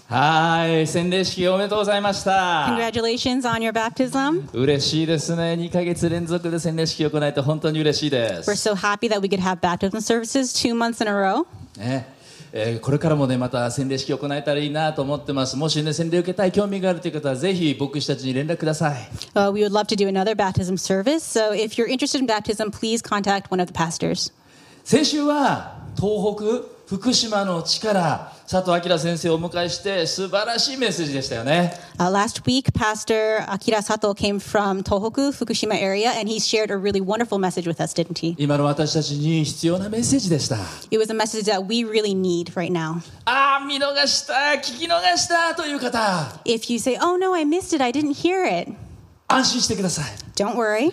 はい、洗礼式おめでとうございました。 Congratulations on your baptism. 嬉しいですね。2ヶ月連続で洗礼式を行えて本当に嬉しいで We're す。 so happy that we could have baptism services 2 months in a row. ねこれからもねまた洗礼式を行えたらいいなと思ってます。もしね洗礼を受けたい興味があるという方はぜひ牧師たちに連絡ください。 We would love to do another baptism service. So if you're interested in baptism, please contact one of the pastors. 先週は東北福島の地から佐藤明先生をお迎えして素晴らしいメッセージでしたよね。 Last week, Pastor Akira Sato came from Tohoku, Fukushima area, and he shared a really wonderful message with us, didn't he? 今の私たちに必要なメッセージでした。 It was a message that we really need right now. 見逃した聞き逃したという方 If you say, oh no, I missed it, I didn't hear it, 安心してください。 don't worry.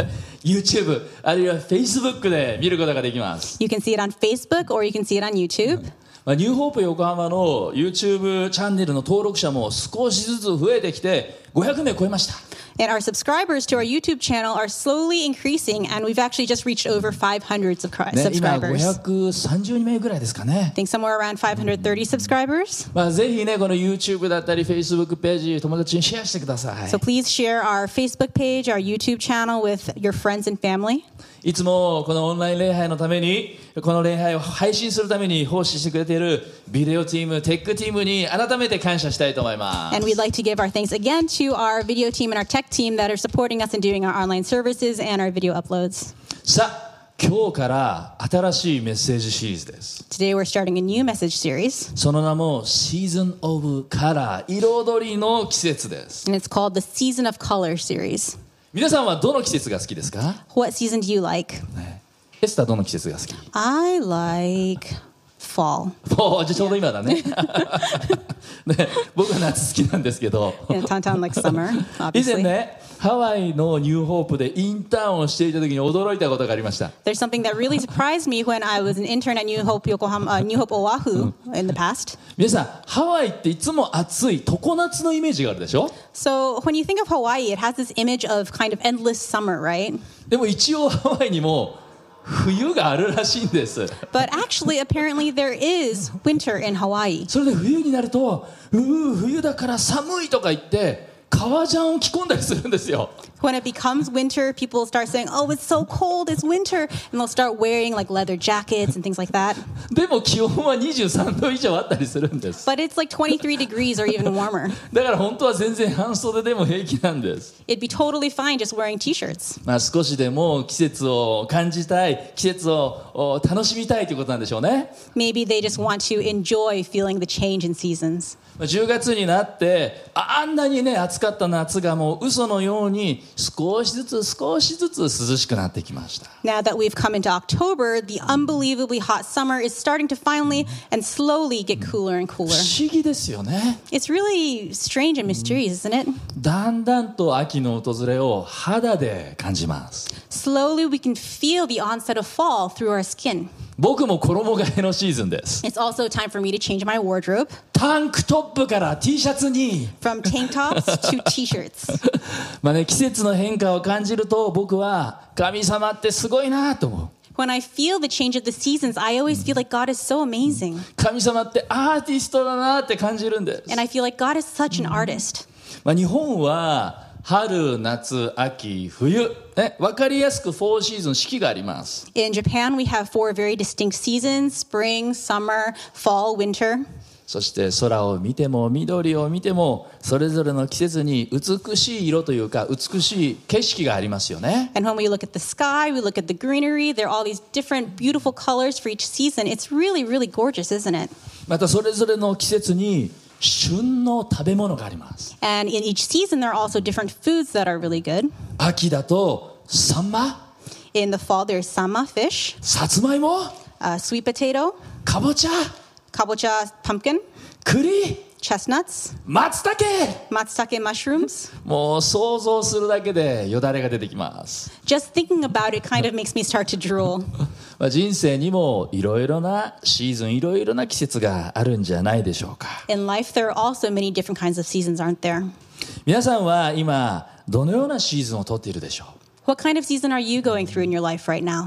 YouTube あるいは Facebook で見ることができます。 You can see it on Facebook or you can see it on YouTube. ニューホープ横浜の YouTube チャンネルの登録者も少しずつ増えてきて500名超えました。 And our subscribers to our YouTube channel are slowly increasing, and we've actually just reached over 500 今 subscribers. 530名ぐらいですかね。 I think somewhere around 530 subscribers. ぜひねこの YouTube だったり Facebook ページ友達にシェアしてください。 So please share our Facebook page, our YouTube channel with your friends and family. いつもこのオンライン礼拝のためにこの礼拝を配信するために奉仕してくれているビデオチームテックチームに改めて感謝したいと思います。 And we'd like to give our thanks again to our video team and our tech team that are supporting us in doing our online services and our video uploads. さあ今日から新しいメッセージシリーズです。 Today we're starting a new message series, その名も Season of Color 彩りの季節です。 and it's called the Season of Color series. 皆さんはどの季節が好きですか？ What season do you like? エスターどの季節が好き？ I like fall. じゃあちょうど今だね。ね僕は夏好きなんですけど And Tantan likes summer, 以前 obviously. ねハワイのニューホープでインターンをしていた時に驚いたことがありました。 There's something that really surprised me when I was an intern at New Hope Oahu in the past. 皆さんハワイっていつも暑い常夏のイメージがあるでしょ。 So when you think of Hawaii, it has this image of kind of endless summer, right? でも一応ハワイにも冬があるらしいんです。 But actually, apparently, there is winter in Hawaii. それで冬になると冬だから寒いとか言って革ジャンを着込んだりするんですよ。 When it becomes winter, people start saying, oh, it's so cold, it's winter. And they'll start wearing like leather jackets and things like that. でも気温は23度以上あったりするんです。 But it's like 23 degrees or even warmer. だから本当は全然半袖でも平気なんです。 It'd be totally fine just wearing t-shirts. 少しでも季節を感じたい、季節を楽しみたいということなんでしょうね。 Maybe they just want to enjoy feeling the change in seasons. 10月になってあんなにね暑かった夏がもう嘘のように少しずつ涼しくなってきました。 Now that we've come into October, the unbelievably hot summer is starting to finally and slowly get cooler and 不 cooler. 思議ですよね。 It's really strange and mysterious, isn't it? だんだんと秋の訪れを肌で感じます。 Slowly we can feel the onset of fall through our skin. 僕も衣替えのシーズンです。 It's also time for me to change my wardrobe タンクトップから T シャツに from tank tops to t-shirts. 季節の変化を感じると僕は神様ってすごいなと思う。 When I feel the change of the seasons, I always feel like God is so amazing. 神様ってアーティストだなって感じるんです。 And I feel like God is such an artist. 日本は春、夏、秋、冬、分かりやすく4シーズン四季があります。 In Japan, we have 4 very distinct seasons: spring, summer, fall, winter. そして空を見ても緑を見てもそれぞれの季節に美しい色というか美しい景色がありますよね。 And when we look at the sky, we look at the greenery, there are all these different beautiful colors for each season. It's really, really gorgeous, isn't it? またそれぞれの季節に旬の食べ物があります。 And in each season, there are also different foods that are really good. 秋だとサンマ、 In the fall, there's sama fish, さつまいも、 sweet potato, かぼちゃ、 kabocha pumpkin, 栗、 chestnuts, 松茸。 matsutake mushrooms. もう想像するだけでよだれが出てきます。 Just thinking about it kind of makes me start to drool. 人生にもいろいろなシーズンいろいろな季節があるんじゃないでしょうか。 In life, there are also many different kinds of seasons, aren't there? 皆さんは今どのようなシーズンをとっているでしょう。 What kind of season are you going through in your life right now?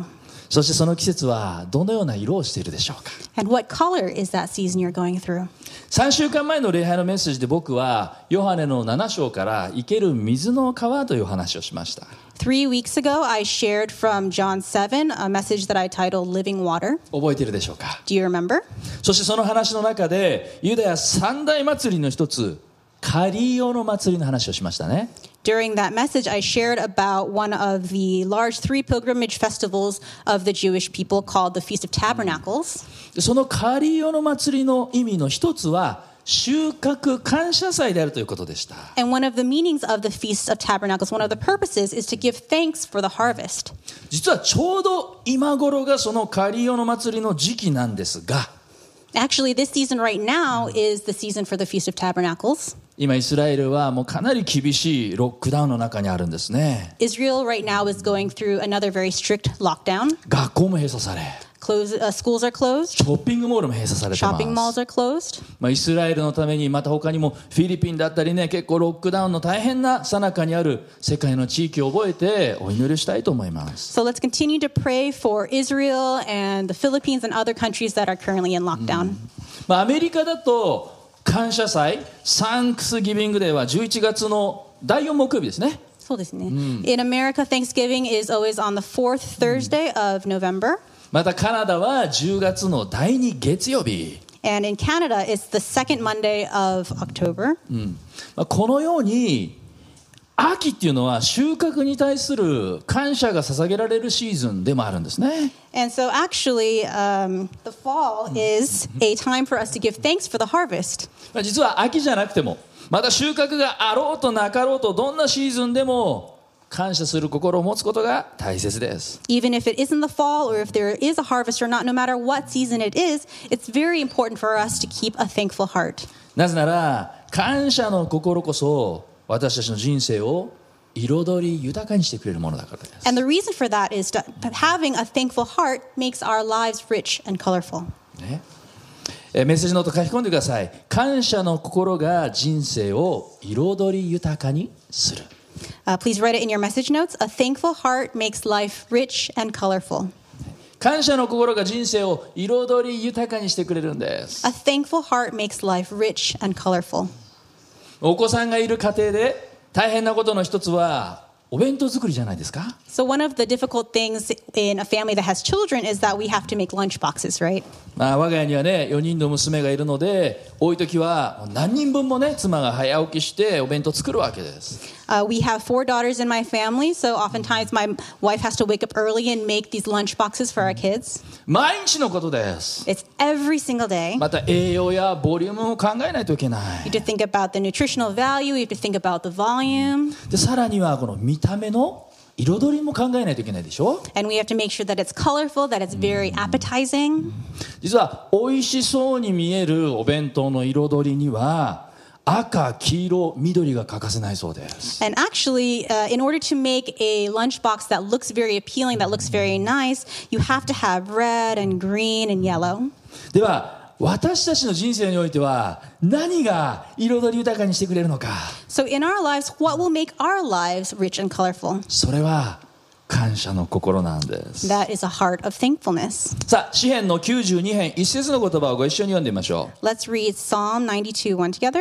そしてその季節はどのような色をしているでしょうか。 And what color is that season you're going through? 3週間前の礼拝のメッセージで僕はヨハネの7章から生ける水の川という話をしました。 3 weeks ago, I shared from John 7 a message that I titled Living Water. 覚えているでしょうか。 Do you remember? そしてその話の中でユダヤ三大祭りの一つカリオの祭りの話をしましたね。 During that message, I shared about one of the large 3 pilgrimage festivals of the Jewish people called the Feast of Tabernacles. そのカリオの祭りの意味の一つは収穫感謝祭であるということでした。 And one of the meanings of the Feast of Tabernacles, one of the purposes, is to give thanks for the harvest. 実はちょうど今頃がそのカリオの祭りの時期なんですが、 Actually, this season right now is the season for the Feast of Tabernacles. 今イスラエルはもうかなり厳しいロックダウンの中にあるんですね。 Israel right now is going through another very strict lockdown. 学校も閉鎖され、 Schools are closed. ショッピングモールも閉鎖されて Shopping ま malls す。 are closed. イスラエルのためにまた他にもフィリピンだったりね、結構ロックダウンの大変な最中にある世界の地域を覚えてお祈りしたいと思います。 So let's continue to pray for Israel and the Philippines and other countries that are currently in lockdown. アメリカだと感謝祭サンクスギビングデーは11月の第4木曜日ですね。 So in America, Thanksgiving is always on the 4th Thursday of November. またカナダは10月の第2月曜日。 And in Canada, it's the second Monday of October. このように秋っていうのは収穫に対する感謝が捧げられるシーズンでもあるんですね。 And so actually, the fall is a time for us to give thanks for the harvest. 実は秋じゃなくてもまた収穫があろうとなかろうとどんなシーズンでも感謝する心を持つことが大切です。 Even if it isn't the fall or if there is a harvest or not, no matter what season it is, it's very important for us to keep a thankful heart. なぜなら感謝の心こそ私たちの人生を彩り豊かにしてくれるものだからです。 And the reason for that is that having a thankful heart makes our lives rich and colorful. ね、メッセージノート書き込んでください。感謝の心が人生を彩り豊かにする。 Please write it in your message notes. A thankful heart makes life rich and colorful. 感謝の心が人生を彩り豊かにしてくれるんです。 A thankful heart makes life rich and colorful. お子さんがいる家庭で大変なことの一つはお弁当作りじゃないですか。 So one of the difficult things in a family that has children is that we have to make lunch boxes, right? 我が家にはね4人の娘がいるので多い時は何人分もね妻が早起きしてお弁当作るわけです。 We have 4 daughters in my family, so oftentimes my wife has to wake up early and make these lunch boxes for our kids. 毎日のことです。 It's every single day. また栄養やボリュームも考えないといけない。 You have to think about the nutritional value, you have to think about the volume, でさらにはこの見た目の彩りも考えないといけないでしょ。 and we have to make sure that it's colorful, that it's very appetizing. 実は美味しそうに見えるお弁当の彩りには赤、黄色、緑が欠かせないそうです。 And actually, in order to make a lunchbox that looks very appealing, that looks very nice, you have to have red and green and yellow. では私たちの人生においては何が彩り豊かにしてくれるのか。 So in our lives, what will make our lives rich and colorful? それは感謝の心なんです。 That is a heart of thankfulness. さあ詩編の92編一節の言葉をご一緒に読んでみましょう。 Let's read Psalm 92:1 together.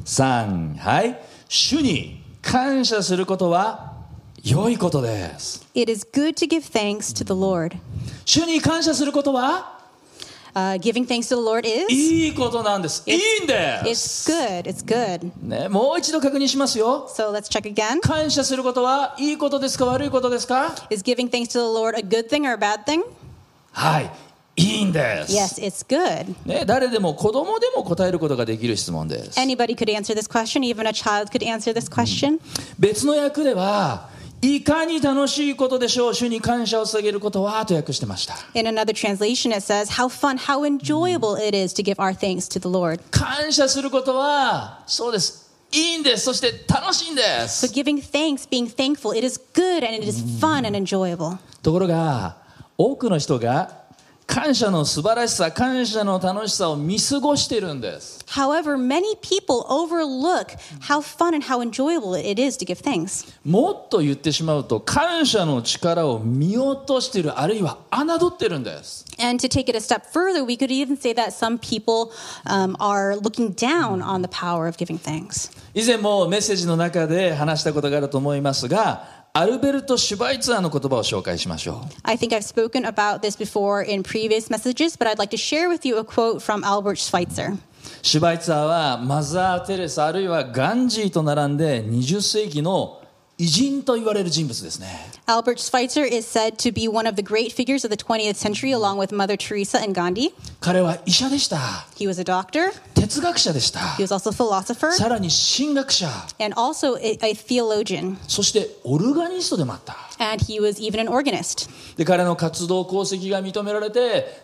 3、はい。主に感謝することは良いことです。 It is good to give thanks to the Lord. 主に感謝することは Giving thanks to the Lord is? いいことなんです。いいんで It's す。 good. It's good. ね、もう一度確認しますよ。 So let's check again. 感謝することはいいことですか悪いことですか。 Is giving thanks to the Lord a good thing or a bad thing? はい、いいんです。 Yes, it's good. ね、誰でも子供でも答えることができる質問です。 Anybody could answer this question. Even a child could answer this question. 別の訳ではいかに楽しいことでしょう主に感謝を捧げることはと訳してました。 In another translation, it says, how fun, how enjoyable it is to give our thanks to the Lord. 感謝することはそうです。いいんです。そして楽しいんで So す。 giving thanks, being thankful, it is good and it is fun and enjoyable. ところが多くの人が感謝の素晴らしさ、感謝の楽しさを見過ごしてるんです。 However, many people overlook how fun and how enjoyable it is to give thanks. もっと言ってしまうと、感謝の力を見落としている、あるいは侮ってるんです。 And to take it a step further, we could even say that some people are looking down on the power of giving thanks. 以前もメッセージの中で話したことがあると思いますが、アルベルト・シュバイツァーの言葉を紹介しましょう。 I think I've spoken about this before in previous messages, but I'd like to share with you a quote from Albert Schweitzer. シュバイツァーはマザー・テレサあるいはガンジーと並んで20世紀の偉人と言われる人物ですね。 Albert Schweitzer is said to be one of the great figures of the 20th century along with Mother Teresa and Gandhi. 彼は医者でした。 He was a doctor. 哲学者でした。 He was also a philosopher. さらに神学者。 And also a theologian. そしてオルガニストでもあった。 And he was even an organist. で、彼の活動功績が認められて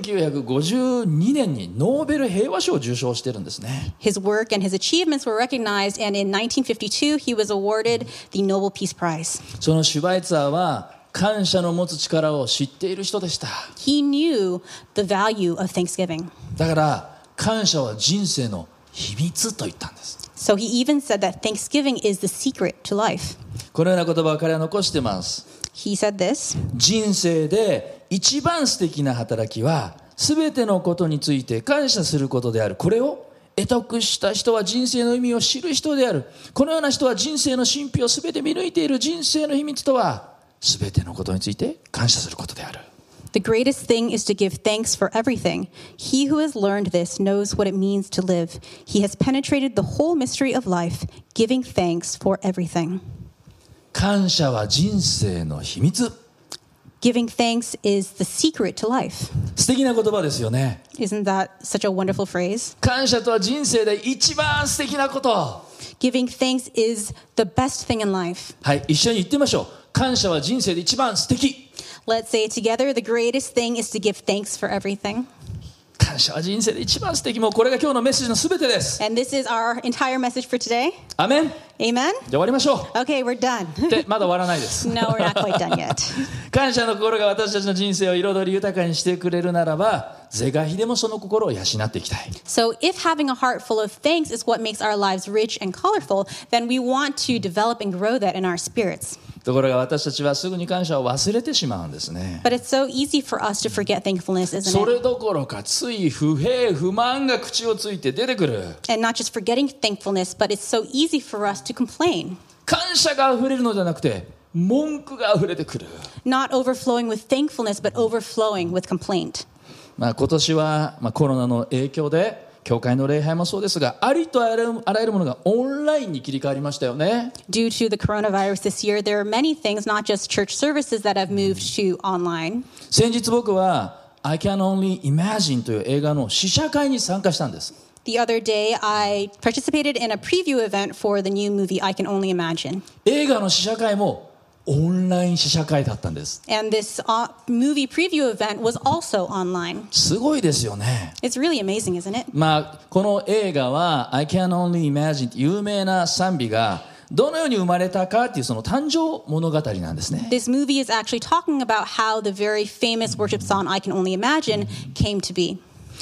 1952年にノーベル平和賞を受賞してるんですね。 His work and his achievements were recognized, and in 1952 he was awarded the Nobel Peace Prize. そのシュバイツァーは感謝の持つ力を知っている人でした。 He knew the value of thanksgiving. だから感謝は人生の秘密と言ったんです。 So he even said that thanksgiving is the secret to life. このような言葉を彼は残しています。 He said this. 人生で一番素敵な働きはすべてのことについて感謝することである。これを得得した人は人生の意味を知る人である。このような人は人生の神秘をすべて見抜いている。人生の秘密とはすべてのことについて感謝することである。 The greatest thing is to give thanks for everything. He who has learned this knows what it means to live. He has penetrated the whole mystery of life, giving thanks for everything. 感謝は人生の秘密。 Giving thanks is the secret to life. 素敵な言葉ですよね。 Isn't that such a wonderful phrase? 感謝とは人生で一番素敵なこと。 Giving thanks is the best thing in life. はい、一緒に言ってみましょう。感謝は人生で一番素敵。 Let's say it together. The greatest thing is to give thanks for everything. 感謝は人生で一番素敵。もうこれが今日のメッセージのすべてです。 And this is our entire message for today. アメン。 Amen? じゃあ終わりましょう。 Okay, we're done. で、まだ終わらないです。 No, we're not quite done yet. 感謝の心が私たちの人生を彩り豊かにしてくれるならば、是が非でもその心を養っていきたい。 So if having a heart full of thanks is what makes our lives rich and colorful, then we want to develop and grow that in our spirits. ところが私たちはすぐに感謝を忘れてしまうんですね。 But it's so easy for us to forget thankfulness, isn't そ it? れどころかつい不平不満が口をついて出てくる。 And not just forgetting thankfulness, but it's so easy for us to complain. 感謝が溢れるのではなくて文句が溢れてくる。 Not overflowing with thankfulness, but overflowing with complaint. 今年はコロナの影響で教会の礼拝もそうですが、ありとあらゆるものがオンラインに切り替わりましたよね。 Due to the coronavirus this year, there are many things, not just church services, that have moved to online. 先日僕は I Can Only Imagine という映画の試写会に参加したんです。 The other day, I participated in a preview event for the new movie I Can Only Imagine. 映画の試写会もオンライン試写会だったんです。 And this movie preview event was also online. すごいですよね。 It's really amazing, isn't it? この映画は I Can Only Imagine って有名な賛美がどのように生まれたかっていうその誕生物語なんですね。 This movie is actually talking about how the very famous worship song I Can Only Imagine came to be.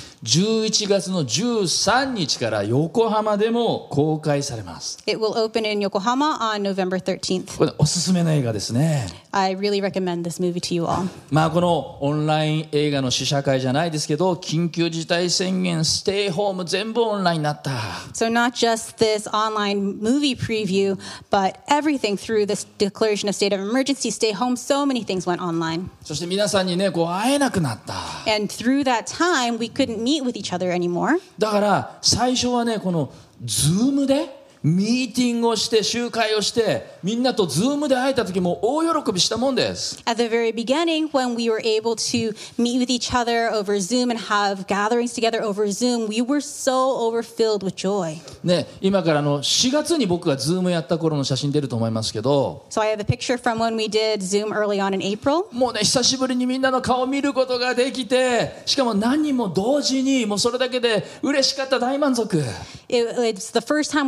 11月の13日から横浜でも公開されます。 It will open in Yokohama on November 13th. これおすすめの映画ですね。 I really recommend this movie to you all. このオンライン映画の試写会じゃないですけど、緊急事態宣言、ステイホーム全部オンラインになった。 So not just this online movie preview, but everything through this declaration of state of emergency, stay home, so many things went online. そして皆さんにね、会えなくなった。 And through that time, we couldn't meet with each other anymore. だから最初はね、このズームでミーティングをして集会をしてみんなとズームで会えた時も大喜びしたもんです。 At the very beginning, when we were able to meet with each other over Zoom and have gatherings together over Zoom, we were so overfilled with joy. ね、今から4月に僕がズームやった頃の写真出ると思いますけど、 So I have a picture from when we did Zoom early on in April. もうね、久しぶりにみんなの顔を見ることができて、しかも何人も同時にもうそれだけで嬉しかった、大満足。 It's the first time we were able to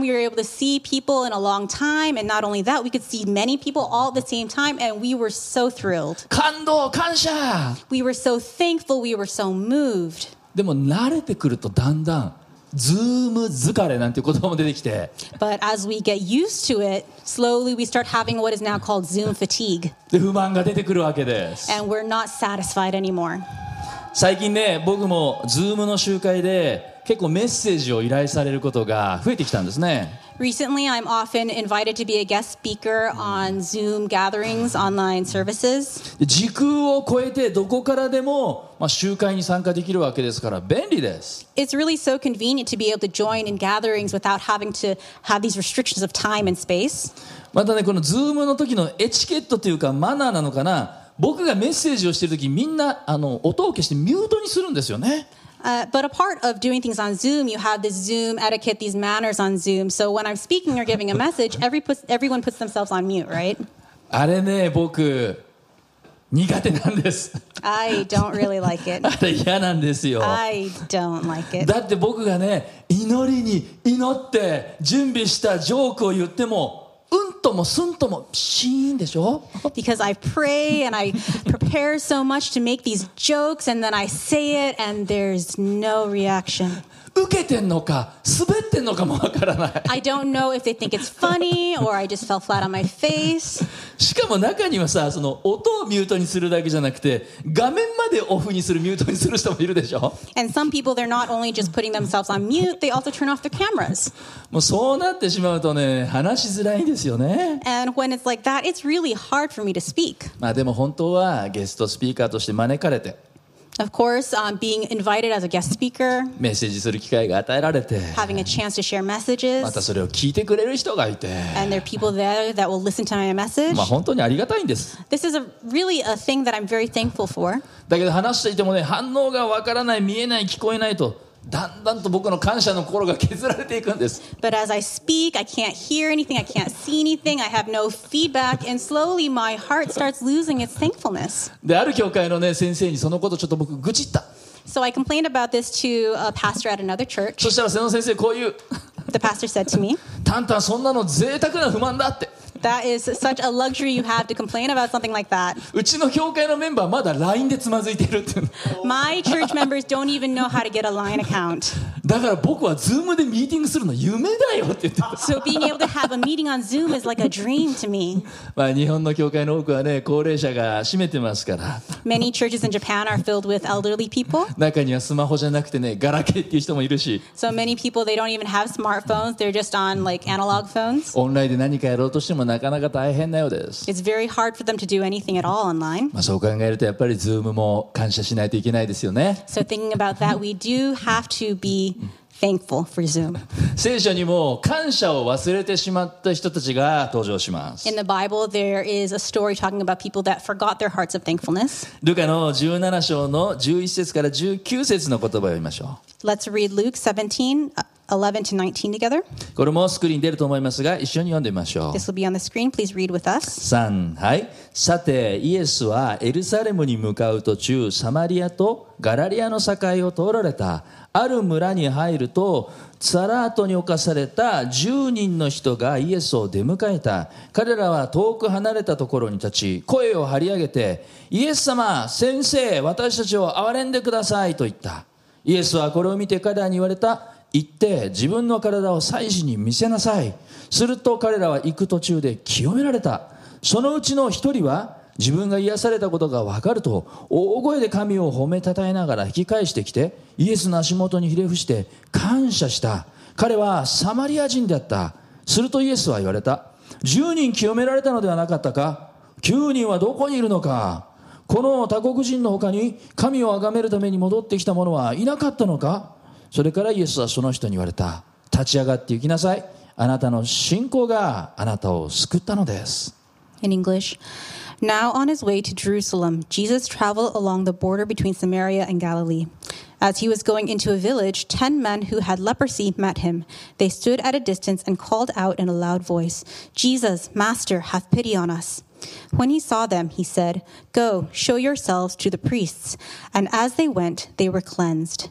to see people in a long time. And not only that, we could see many people all at the same time. And we were so thrilled. 感動、感謝。 We were so thankful. We were so moved. でも慣れてくるとだんだんズーム疲れなんていう言葉も出てきて、 But as we get used to it, slowly we start having what is now called Zoom fatigue. で不満が出てくるわけです。 And we're not satisfied anymore. 最近ね、僕もズームの集会で結構メッセージを依頼されることが増えてきたんですね。 Recently, I'm often invited to be a guest speaker on Zoom gatherings, online services. で時空を超えてどこからでも、集会に参加できるわけですから便利です。 It's really so convenient to be able to join in gatherings without having to have these restrictions of time and space. またね、このズームの時のエチケットというかマナーなのかな、僕がメッセージをしている時みんな音を消してミュートにするんですよね。 But a part of doing things on Zoom, you have this Zoom etiquette, these manners on Zoom. So when I'm speaking or giving a message, everyone puts themselves on mute, right? あれね、僕苦手なんです。 I don't really like it. あれ嫌なんですよ。 I don't like it. だって僕がね、祈りに祈って準備したジョークを言ってもうんともすんともシーンでしょ。 Because I pray and I prepare so much to make these jokes, and then I say it and there's no reaction. 受けてんのか滑ってんのかもわからない。 I don't know if they think it's funny or I just fell flat on my face. しかも中にはさ、その音をミュートにするだけじゃなくて画面までオフにするミュートにする人もいるでしょ。 And some people, they're not only just putting themselves on mute, they also turn off their cameras. もうそうなってしまうとね、話しづらいんですよね。 And when it's like that, it's really hard for me to speak. でも本当はゲストスピーカーとして招かれて Of course, being invited as a guest speaker, メッセージする機会が与えられて having a chance to share また messages, それを聞いてくれる人がいて and there are people there that will listen to my message. 本当にありがたいんです。 This is really a thing that I'm very thankful for. だけど話していてもね、反応がわからない、見えない、聞こえないとだんだんと僕の感謝の心が削られていくんです。 But as I speak, I can't hear anything, I can't see anything, I have no feedback, and slowly my heart starts losing its thankfulness. である教会のね先生にそのことちょっと僕愚痴った。 So I complained about this to a pastor at another church. そしたらその先生こういう The pastor said to me, タンタンそんなの贅沢な不満だって。 that is such a luxury you have to complain about something like that. うちの教会のメンバーまだ LINE でつまずいてるっていうの。 My church members don't even know how to get a line account. だから僕は Zoom でミーティングするの夢だよって言ってた。 So being able to have a meeting on Zoom is like a dream to me. 日本の教会の多くはね高齢者が占めてますから Many churches in Japan are filled with elderly people. 中にはスマホじゃなくてねガラケーっていう人もいるし So many people, they don't even have smartphones. They're just on like analog phones. オンラインで何かやろうとしてもなかなか大変なようです。 It's very hard for them to do anything at all online. そう考えるとやっぱり Zoom も感謝しないといけないですよね。 So thinking about that, we do have to be thankful for Zoom. 聖書にも感謝を忘れてしまった人たちが登場します。 In the Bible, there is a story talking about people that forgot their hearts of thankfulness. ルカの17章の11節から19節の言葉を読みましょ Let's read Luke 17, 11 to 19 together. う。これもスクリーンに出ると思いますが一緒に読んでみましょう。 This will be on the screen. Please read with us. 3、はい。さてイエスはエルサレムに向かう途中サマリアとガラリアの境を通られた。ある村に入るとツァラートに侵された10人の人がイエスを出迎えた。彼らは遠く離れたところに立ち声を張り上げてイエス様先生私たちを憐れんでくださいと言った。イエスはこれを見て彼らに言われた。行って自分の体を祭司に見せなさい。すると彼らは行く途中で清められた。そのうちの一人は自分が癒されたことが分かると大声で神を褒めたたえながら引き返してきてイエスの足元にひれ伏して感謝した。彼はサマリア人であった。するとイエスは言われた。10人清められたのではなかったか。9人はどこにいるのか。この他国人の他に神を崇めるために戻ってきた者はいなかったのか。それからイエスはその人に言われた。立ち上がって行きなさい。あなたの信仰があなたを救ったのです。 In English, now on his way to Jerusalem, Jesus traveled along the border between Samaria and Galilee. As he was going into a village, 10 men who had leprosy met him. They stood at a distance and called out in a loud voice, Jesus, Master, have pity on us. When he saw them, he said, Go, show yourselves to the priests. And as they went, they were cleansed.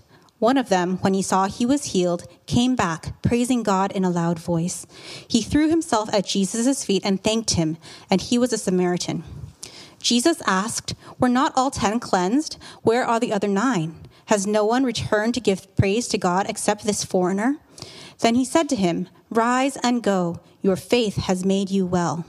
One of them, when he saw he was healed, came back, praising God in a loud voice. He threw himself at Jesus' feet and thanked him, and he was a Samaritan. Jesus asked, "Were not all 10 cleansed? Where are the other 9? Has no one returned to give praise to God except this foreigner?" Then he said to him, "Rise and go. Your faith has made you well."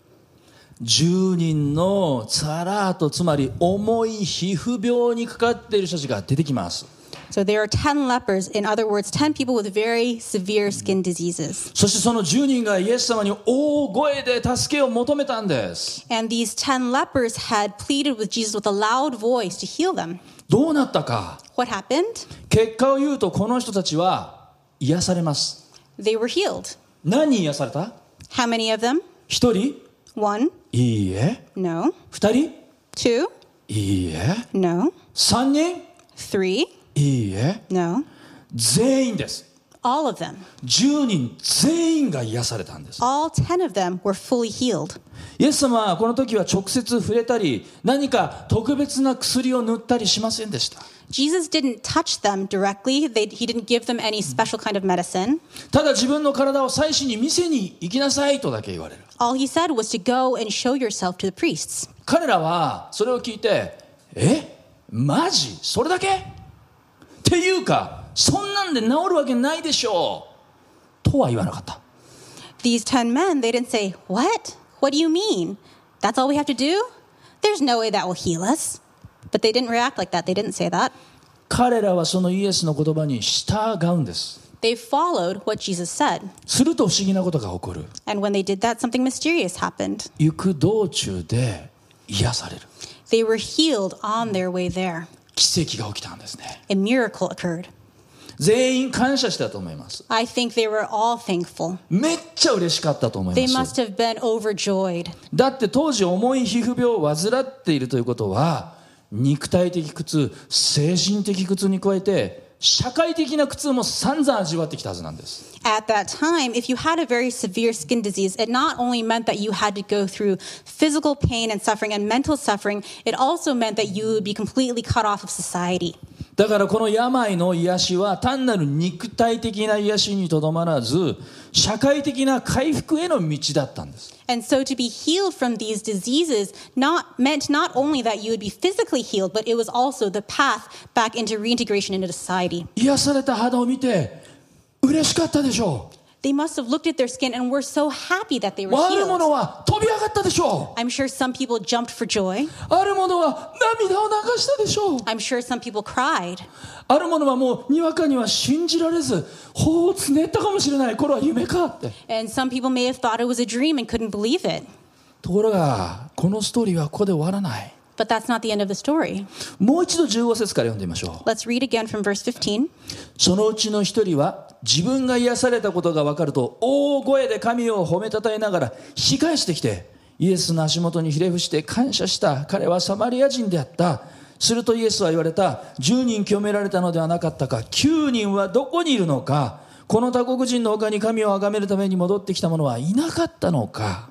10人のツァラート、つまり重い皮膚病にかかっている人たちが出てきます。 So there are 10 lepers, in other words, 10 people with very severe skin diseases. そしてその10人がイエス様に大声で助けを求めたんです。 And these 10 lepers had pleaded with Jesus with a loud voice to heal them. どうなったか。 What happened? 結果を言うとこの人たちは癒されます。 They were healed. 何人癒された？ How many of them? 1人？ 1? いいえ。 No. 2人？ 2? いいえ。 No. 3人？ 3? いいえ。 No. 全員です。 All of them. 10人全員が癒されたんです。 All 10 of them were fully healed. イエス様はこの時は直接触れたり何か特別な薬を塗ったりしませんでした。 Jesus didn't touch them directly. He didn't give them any special kind of medicine. ただ自分の体を祭司に見せに行きなさいとだけ言われる。 All he said was to go and show yourself to the priests. 彼らはそれを聞いて、マジ？それだけ？っていうか、そんなんで治るわけないでしょうとは言わなかった。 These 10 men, they didn't say, "What? What do you mean? That's all we have to do? There's no way that will heal us." But they didn't react like that. They didn't say that. 彼らはそのイエスの言葉に従うんです。 They followed what Jesus said. すると不思議なことが起こる。 And when they did that, something mysterious happened. 行く道中で癒される。 They were healed on their way there. 奇跡が起きたんですね。 A miracle occurred. 全員感謝したと思います。 I think they were all thankful. めっちゃ嬉しかったと思い They ます。 must have been overjoyed. だって当時重い皮膚病を患っているということは肉体的苦痛、精神的苦痛に加えて社会的な苦痛も散々味わってきたはずなんです。 At that time, if you had a very severe skin disease, it not only meant that you had to go through physical pain and suffering and mental suffering, it also meant that you would be completely cut off of society. だからこの病の癒しは単なる肉体的な癒しにとどまらず社会的な回復への道だったんです。 And so to be healed from these diseases meant not only that you would be physically healed, but it was also the path back into reintegration into society. 癒された肌を見て嬉しかったでしょう。 They must have looked at their skin and were so happy that they were ある者 healed. は飛び上がったでしょう。 I'm sure some people jumped for joy. ある者は涙を流したでしょう。 I'm sure some people cried. ある者はもうにわかには信じられず頬をつねったかもしれない。これは夢かって。 And some people may have thought it was a dream and couldn't believe it. ところがこのストーリーはここで終わらない。 But that's not the end of the story. もう一度15節から読んでみましょう。 Let's read again from verse 15. そのうちの一人は自分が癒されたことが分かると大声で神を褒めたたえながら引き返してきてイエスの足元にひれ伏して感謝した。彼はサマリア人であった。するとイエスは言われた。10人清められたのではなかったか。9人はどこにいるのか。この他国人の他に神を崇めるために戻ってきた者はいなかったのか。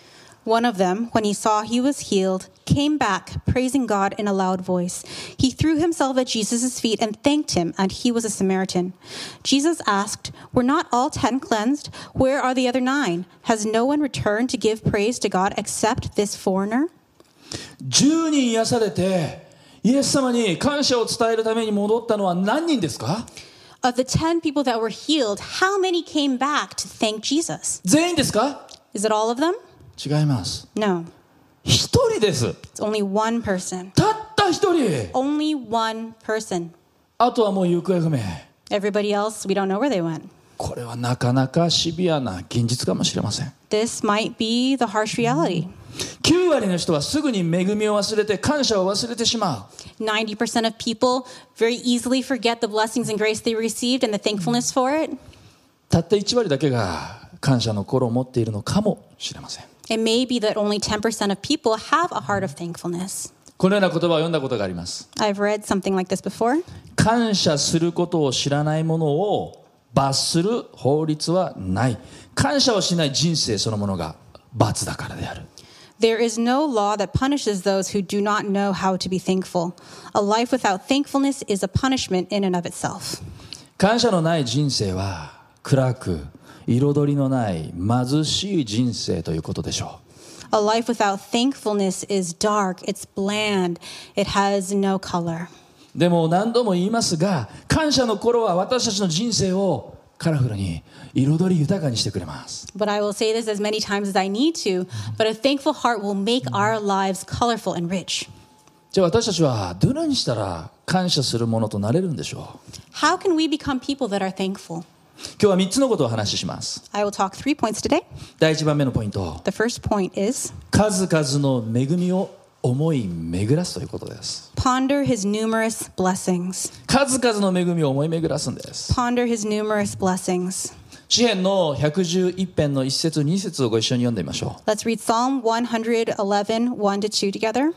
One of them, when he saw he was healed, came back, praising God in a loud voice. He threw himself at Jesus' feet and thanked him, and he was a Samaritan. Jesus asked, "Were not all 10 cleansed? Where are the other 9? Has no one returned to give praise to God except this foreigner?" 10人癒されてイエス様に感謝を伝えるために戻ったのは何人ですか？ Of the 10 people that were healed, how many came back to thank Jesus? 全員ですか？ Is it all of them? 違います。 No. 一人です。 It's only one person. たった一人。 Only one person. あとはもう行方不明。 Everybody else, we don't know where they went. これはなかなかシビアな現実かもしれません。 This might be the harsh reality. 9割の人はすぐに恵みを忘れて感謝を忘れてしまう。 90% of people very easily forget the blessings and grace they received and the thankfulness for it. たった1割だけが感謝の心を持っているのかもしれません。 It may be that only 10% of people have a heart of thankfulness. このような言葉を読んだことがあります。 I've read something like this before. 感謝することを知らない者を罰する法律はない。感謝をしない人生そのものが罰だからである。 There is no law that punishes those who do not know how to be thankful. A life without thankfulness is a punishment in and of itself. 感謝のない人生は暗く彩りのない貧しい人生ということでしょう。 A life without thankfulness is dark, it's bland, it has no color. でも何度も言いますが、感謝の頃は私たちの人生をカラフルに彩り豊かにしてくれます。 But I will say this as many times as I need to, but a thankful heart will make our lives colorful and rich. じゃあ私たちはどのようにしたら感謝するものとなれるんでしょう。 How can we become people that are thankful? 今日は3つのことをお話しします。 I will talk 3 points today. 第1番目のポイント、 The first point is 数々の恵みを思い巡らすということです。 ponder his numerous blessings. 数々の恵みを思い巡らすんです。 Ponder his numerous blessings. 詩編の111編の1節2節をご一緒に読んでみましょう。 Let's read Psalm 111, 1-2 together.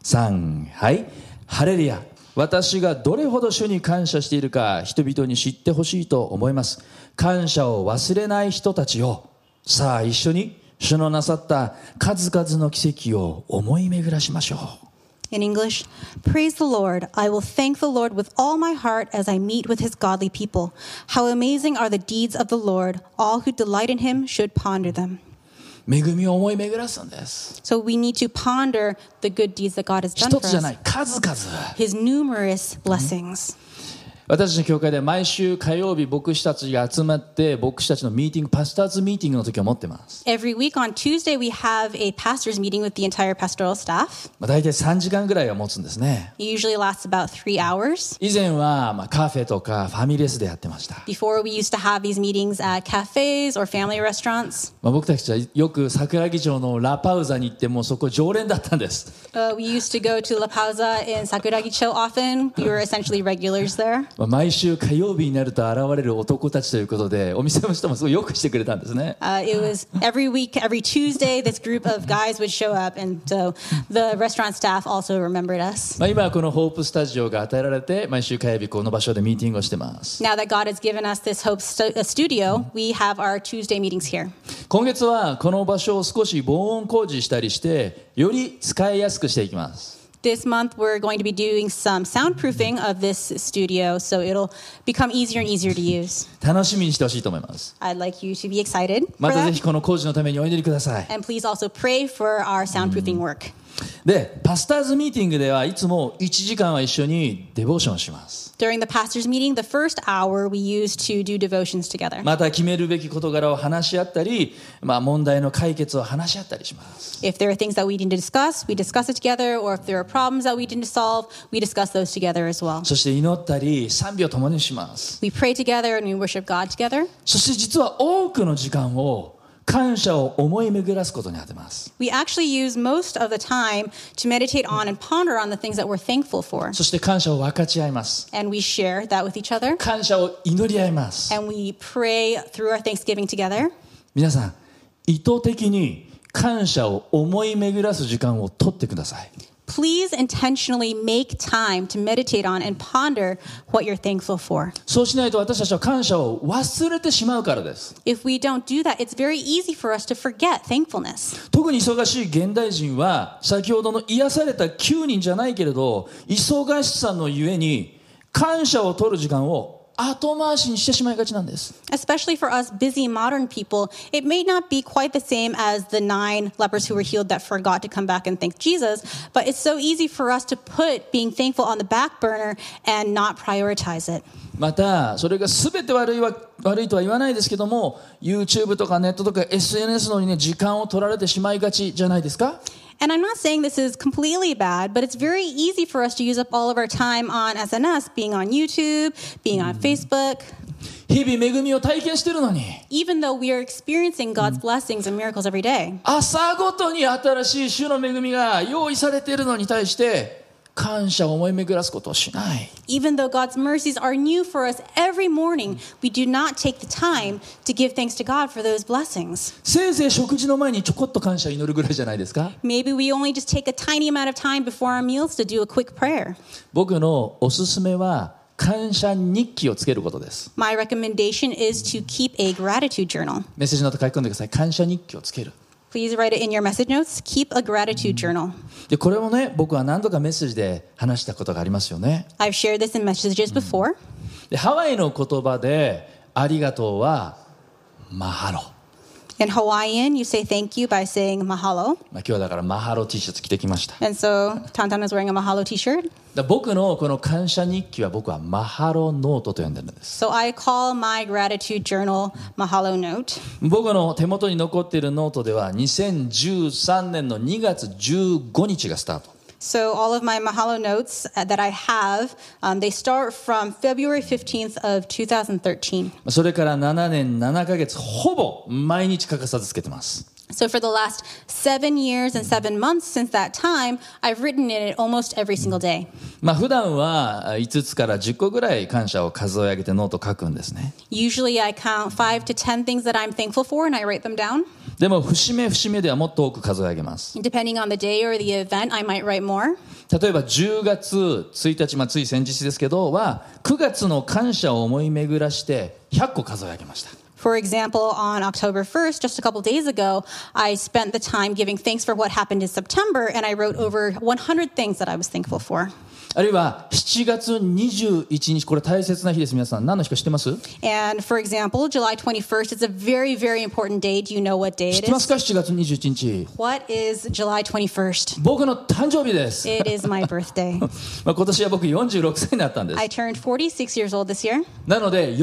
3、はい。ハレルヤ。私がどれほど主に感謝しているか人々に知ってほしいと思います。感謝を忘れない人たちよ。さあ一緒に主のなさった数々の奇跡を思い巡らしましょう。 In English, praise the Lord. I will thank the Lord with all my heart as I meet with his godly people. How amazing are the deeds of the Lord. All who delight in him should ponder them. 恵みを思い巡らすんです。 So we need to ponder the good deeds that God has done 一 for つじゃ us. ない、数々。 His numerous blessings. 私たちの教会では毎週火曜日牧師たちが集まって牧師たちのミーティング、パスターズミーティングの時を持ってます。 Every week on Tuesday, we have a pastor's meeting with the entire pastoral staff. 大体3時間ぐらいは持つんですね。 It usually lasts about 3 hours. 以前はカフェとかファミレスでやってました。 Before, we used to have these meetings at cafes or family restaurants. 僕たちはよく桜木町のラパウザに行ってもうそこ常連だったんです。 We used to go to La Pausa in Sakuragicho often. We were essentially regulars there. 毎週火曜日になると現れる男たちということでお店の人もすごいよくしてくれたんですね。 It was every week, every Tuesday, this group of guys would show up. And so the restaurant staff also remembered us. 今はこのホープスタジオが与えられて毎週火曜日この場所でミーティングをしてます。 Now that God has given us this Hope studio, we have our Tuesday meetings here. 今月はこの場所を少し防音工事したりしてより使いやすくしていきます。 This month, we're going to be doing some soundproofing of this studio, so it'll become easier and easier to use. 楽しみにしてほしいと思います。 I'd like you to be excited ま for たぜ that. ひこの工事のためにお祈りください。 And please also pray for our soundproofing work. で、パスターズミーティングではいつも1時間は一緒にデボーションします。 During the pastor's meeting, the first hour we use to do devotions together. また決めるべき事柄を話し合ったり、問題の解決を話し合ったりします。 If there are things that we need to discuss, we discuss it together. Or if there are problems that we need to solve, we discuss those together as well. そして祈ったり賛美を共にします。 We pray together and we worship God together. そして実は多くの時間を感謝を思い巡らすことに当てます。 We actually use most of the time to meditate on and ponder on the things that we're thankful for. そして感謝を分かち合います。 And we share that with each other. 感謝を祈り合います。 And we pray through our Thanksgiving together. 皆さん、意図的に感謝を思い巡らす時間を取ってください。 Please intentionally make time to meditate on and ponder what you're thankful for. そうしないと私たちは感謝を忘れてしまうからです。 If we don't do that, it's very easy for us to forget thankfulness. 特に忙しい現代人は先ほどの癒された9人じゃないけれど忙しさのゆえに感謝を取る時間を後回しにしてしまいがちなんです。 Especially for us busy modern people, it may not be quite the same as the 9 lepers who were healed that forgot to come back and thank Jesus, but it's so easy for us to put being thankful on the back burner and not prioritize it. またそれが全て悪いとは言わないですけども YouTube とかネットとか SNS のにね時間を取られてしまいがちじゃないですか。 And I'm not saying this is completely bad, but it's very easy for us to use up all of our time on SNS, being on YouTube, being on Facebook. 日々恵みを体験してるのに Even though we are experiencing God's blessings and miracles every day. 朝ごとに新しい主の恵みが用意されているのに対して感謝を思い巡らすことをしない。 Even though God's mercies are new for us every morning, we do not take the time to give thanks to God for those blessings. せいぜい食事の前にちょこっと感謝を祈るぐらいじゃないですか。 Maybe we only just take a tiny amount of time before our meals to do a quick prayer. 僕のおすすめは感謝日記をつけることです。 My recommendation is to keep a gratitude journal. メッセージノート書き込んでください。感謝日記をつける。 Please write it in your message notes. Keep a gratitude journal. でこれもね、僕は何度かメッセージで話したことがありますよね。 I've shared this in messages before. でハワイの言葉でありがとうはマハロ。 In Hawaiian, you say thank you by saying mahalo. 今日はだからマハロ T シャツ着てきました。 And so Tantan is wearing a mahalo t-shirt. 僕のこの感謝日記は僕はマハロノートと呼んでるんです。 So I call my gratitude journal mahalo note. 僕の手元に残っているノートでは2013年の2月15日がスタート。 So all of my mahalo notes that I have, they start from February 15th of 2013. それから7年7ヶ月ほぼ毎日欠かさずつけてます。 So for the last 7 years and 7 months since that time, I've written in it almost every single day. 普段は5つから10個ぐらい感謝を数え上げてノート書くんですね。 Usually I count 5 to 10 things that I'm thankful for and I write them down. でも節目節目ではもっと多く数え上げます。 Depending on the day or the event, I might write more. 例えば10月1日、つい先日ですけどは9月の感謝を思い巡らして100個数え上げました。 For example, on October 1st, just a couple days ago, I spent the time giving thanks for what happened in September, and I wrote over 100 things that I was thankful for. あるいは7月21日、これ大切な日です。皆さん何の日か知ってます？ And for example, July 21st is a very, very important day. Do you know what day 知っ it てます is? か？7月21日 What is July 21st? 僕の誕生日です。 It is my birthday. 今年は僕46歳になったんです。 I turned 46 years old this year. なので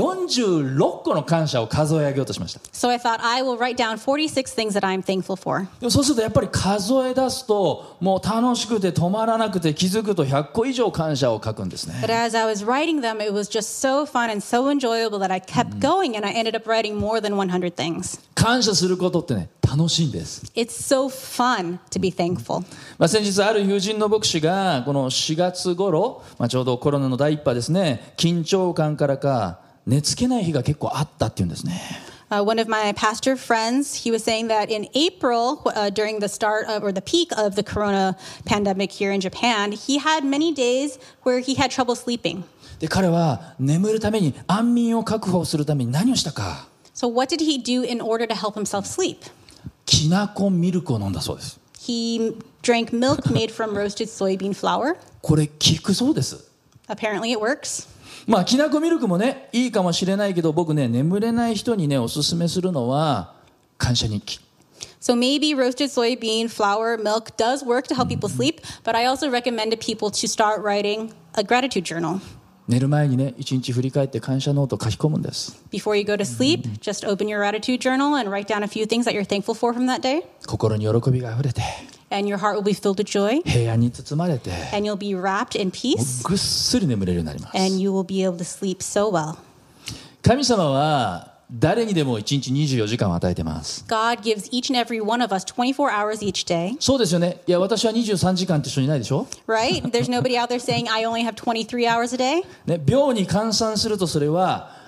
46個の感謝を数え上げようとしました。 So I thought I will write down 46 things that I'm thankful for. でもそうするとやっぱり数え出すともう楽しくて止まらなくて気づくと100個以上感謝を書くんですね。 But as I was writing them, it was just so fun and so enjoyable that I kept going and I ended up writing more than 100 things. 感謝することってね、楽しいんです。 It's so fun to be thankful. 先日ある友人の牧師がこの4月頃、ちょうどコロナの第一波ですね、緊張感からか寝つけない日が結構あったっていうんですね。 One of my pastor friends, he was saying that in April, during the start of, or the peak of the corona pandemic here in Japan, he had many days where he had trouble sleeping. で彼は眠るために安眠を確保するために何をしたか。 So what did he do in order to help himself sleep? きなこミルクを飲んだそうです。 He drank milk made from roasted soybean flour. これ効くそうです。 Apparently it works. きなこミルクもねいいかもしれないけど、僕ね眠れない人にねおすすめするのは感謝日記。 So maybe roasted soybean flour milk does work to help people sleep, but I also recommend to people to start writing a gratitude journal. 寝る前にね一日振り返って感謝ノートを書き込むんです。 Before you go to sleep, just open your gratitude journal and write down a few things that you're thankful for from that day. 心に喜びがあふれて And your heart will be filled with joy, 平安に包まれて and you'll be wrapped in peace, ぐっすり眠れるようになります。 and you will be able to sleep so well. 神様は誰にでも1日24時間を与えてます。 God gives each and every one of us 24 hours each day, そうですよね。いや私は23時間って人いないでしょ、 right? There's nobody out there saying, I only have 23 hours a day. ね、秒に換算するとそれは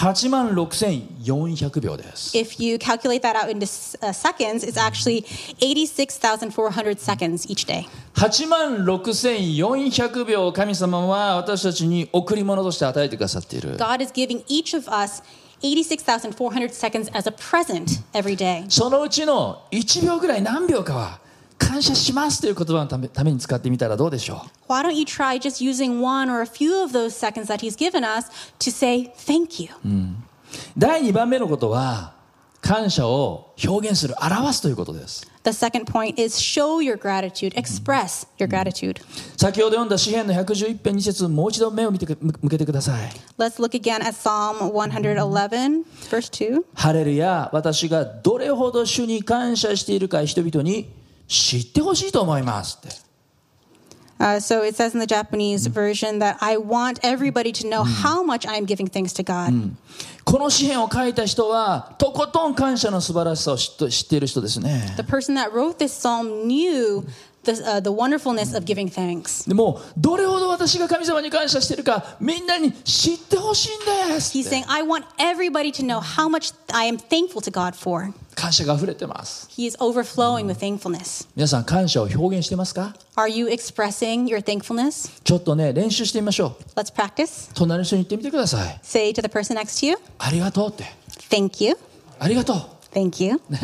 86,400秒です。 If you calculate that out into seconds, it's actually 86,400 seconds each day. 86,400秒を神様は私たちに贈り物として与えてくださっている。 God is giving each of us 86,400 seconds as a present every day. そのうちの1秒ぐらい何秒かは感謝しますという言葉のために使ってみたらどうでしょう。 Why don't you try just using one or a few of those seconds that He's given us to say thank you? 第2番目のことは感謝を表現する、表すということです。 The second point is show your gratitude, express your gratitude. 先ほど読んだ詩編の111編2節、もう一度目を向けてください。 Let's look again at Psalm 111, verse 2. ハレルヤ、私がどれほど主に感謝しているか人々に知ってほしいと思いますって。 So it says in the Japanese version that I want everybody to know how much I am giving thanks to God. この詩編を書いた人はとことん感謝の素晴らしさを知っている人ですね。 The person that wrote this psalm knew the wonderfulness of giving thanks. でもどれほど私が神様に感謝しているかみんなに知ってほしいんですっ He's て。 saying, I want everybody to know how much I am thankful to God for. 感謝が溢れてます。 He is overflowing with thankfulness. 皆さん感謝を表現してますか？ Are you expressing your thankfulness? ちょっとね練習してみましょう。 Let's practice. 隣の人に言ってみてください。 Say to the person next to you, ありがとうって。 thank you, ありがとう。 thank you.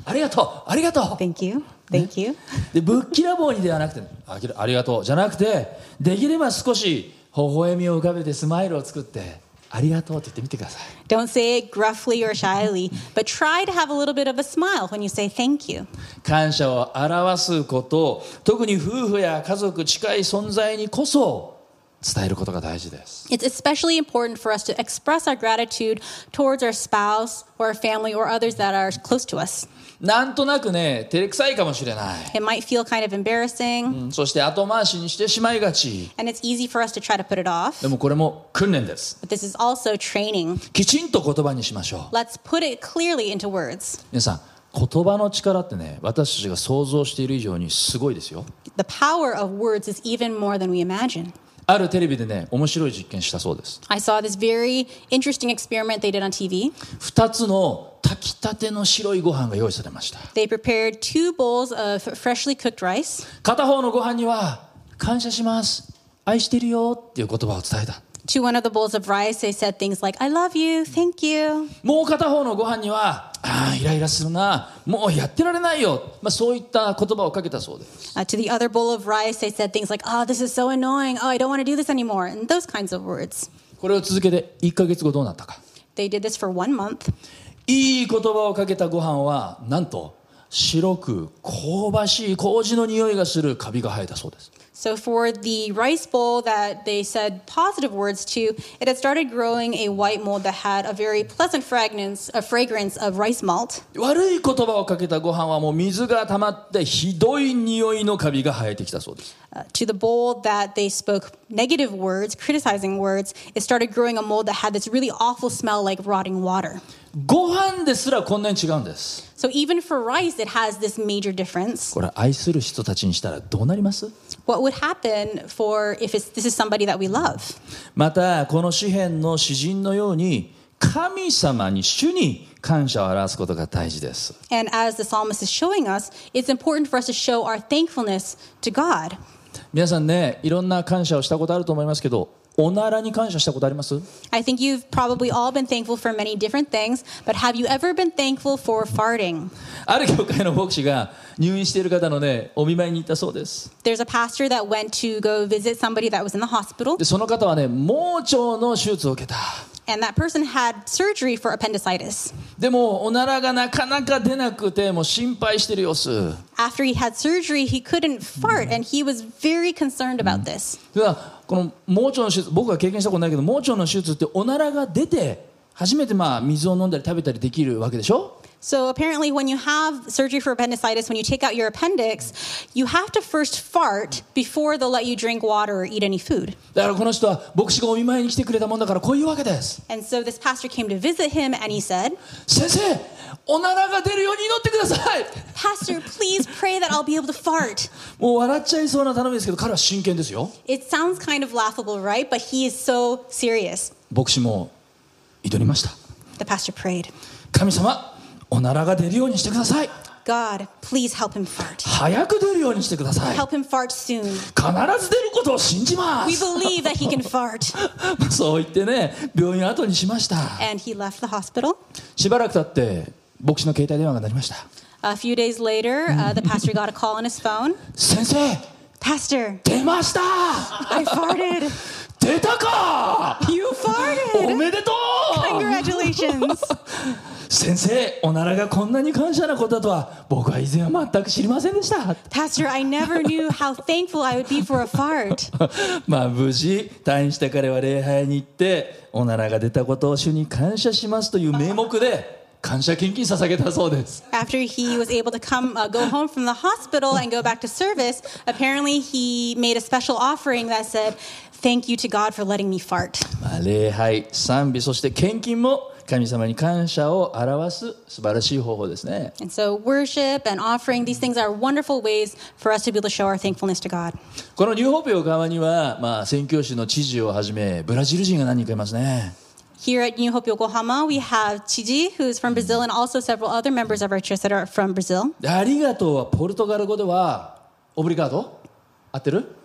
ありがとうありがとう Thank you. Thank you. でぶっきらぼうにではなくてありがとうじゃなくてできれば少し微笑みを浮かべてスマイルを作ってありがとうって言ってみてください Don't say it gruffly or shyly, but try to have a little bit of a smile when you say thank you. 感謝を表すこと特に夫婦や家族近い存在にこそ伝えることが大事です It's especially important for us to express our gratitude towards our spouse or our family or others that are close to us. なんとなくね照れくさいかもしれない、 It might feel kind of embarrassing, そして後回しにしてしまいがち and it's easy for us to try to put it off. でもこれも訓練です But this is also training. きちんと言葉にしましょう Let's put it clearly into words. 皆さん言葉の力ってね私たちが想像している以上にすごいですよ The power of words is even more than we imagine. あるテレビでね面白い実験したそうです I saw this very interesting experiment they did on TV. 2つの炊きたての白いご飯が用意されました They prepared 2 bowls of freshly cooked rice. 片方のご飯には感謝します愛してるよっていう言葉を伝えた To one of the bowls of rice, they said things like, I love you, thank you. もう片方のご飯にはイライラするなもうやってられないよ、そういった言葉をかけたそうです To the other bowl of rice, they said things like, oh, this is so annoying. Oh, I don't want to do this anymore. And those kinds of words. これを続けて1ヶ月後どうなったか They did this for 1 month. いい言葉をかけたご飯はなんと白く香ばしい麹の匂いがするカビが生えたそうです So for the rice bowl that they said positive words to, it had started growing a white mold that had a very pleasant fragrance of rice malt. 悪い言葉をかけたご飯はもう水が溜まってひどい匂いのカビが生えてきたそうです To the bowl that they spoke negative words, criticizing words, it started growing a mold that had this really awful smell like rotting water. ご飯ですらこんなに違うんです So even for rice, it has this major difference. これ愛する人たちにしたらどうなります What would happen for if this is somebody that we love? またこの詩篇の詩人のように神様に主に感謝を表すことが大事です And as the psalmist is showing us, it's important for us to show our thankfulness to God. 皆さんねいろんな感謝をしたことあると思いますけどおならに感謝したことあります I think you've probably all been thankful for many different things, but have you ever been thankful for farting? ある教会の牧師が入院している方のねお見舞いに行ったそうです There's a pastor that went to go visit somebody that was in the hospital, でその方はね盲腸の手術を受けた and that person had surgery for appendicitis. でもおならがなかなか出なくてもう心配している様子 After he had surgery, he couldn't fart, and he was very concerned about this. ではこの盲腸の手術僕は経験したことないけど盲腸の手術っておならが出て初めて水を飲んだり食べたりできるわけでしょ So apparently when you have surgery for appendicitis, when you take out your appendix, you have to first fart before they'll let you drink water or eat any food. だからこの人は牧師がお見舞いに来てくれたもんだからこういうわけです And so this pastor came to visit him, and he said, 先生おならが出るように祈ってください Pastor, please pray that I'll be able to fart. もう笑っちゃいそうな頼みですけど彼は真剣ですよ It sounds kind of laughable, right? But he is so serious. 牧師も祈りました The pastor prayed, 神様おならが出るようにしてください God, please help him fart. 早く出るようにしてください Help him fart soon. 必ず出ることを信じま We す believe that he can fart. そう言ってね病院を後にしました And he left the hospital. しばらく経って牧師の携帯電話が鳴りました A few days later, the pastor got a call on his phone. 先生 Pastor, 出ました I farted. 出たか You お farted. めでとう Congratulations. 先生おならがこんなに感謝なことだとは僕は以前は全く知りませんでした Pastor, I never knew how thankful I would be for a fart. 無事退院した彼は礼拝に行っておならが出たことを主に感謝しますという名目で感謝献金捧げたそうです After he was able to go home from the hospital and go back to service, apparently he made a special offering that said, Thank you to God for letting me fart. 礼拝賛美そして献金も神様に感謝を表す素晴らしい方法ですね And so worship and offering, these things are wonderful ways for us to be able to show our thankfulness to God. このニューホープ横浜には、宣教師の知事をはじめブラジル人が何人かいますね Here at New Hope Yokohama, we have Chiji, who's from Brazil, and also several other members of our church that are from Brazil. ありがとうはポルトガル語ではオブリガード合ってる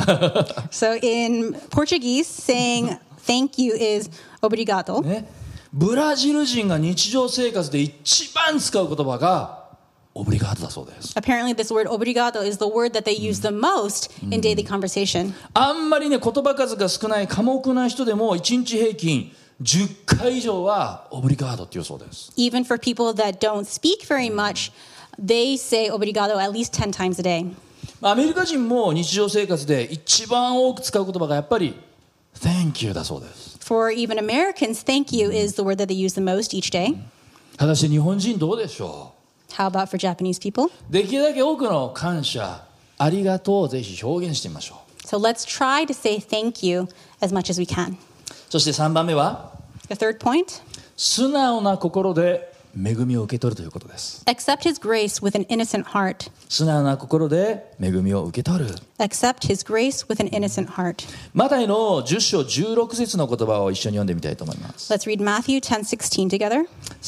So in Portuguese, saying thank you is obrigado. ねブラジル人が日常生活で一番使う言葉がオブリガートだそうです。 Apparently, this word obrigado is the word that they use the most in daily conversation. あんまりね言葉数が少ない寡黙な人でも1日平均10回以上はオブリガードっていうそうです。 Even for people that don't speak very much, they say obrigado at least 10 times a day. アメリカ人も日常生活で一番多く使う言葉がやっぱり Thank you だそうです。 For even Americans, thank you is the word that they use the most each day. 果たして日本人どうでしょ How about for Japanese people? う。できるだけ多くの感謝ありがとうをぜひ表現してみましょう。 So let's try to say thank you as much as we can. そして3番目は The third point, 素直な心で恵みを受け取るということです。 accept his grace with an innocent heart. 素直な心で恵みを受け取る。 Accept his grace with an innocent heart. マタイの10章16節の言葉を一緒に読んでみたいと思います。 Let's read Matthew 10:16 together.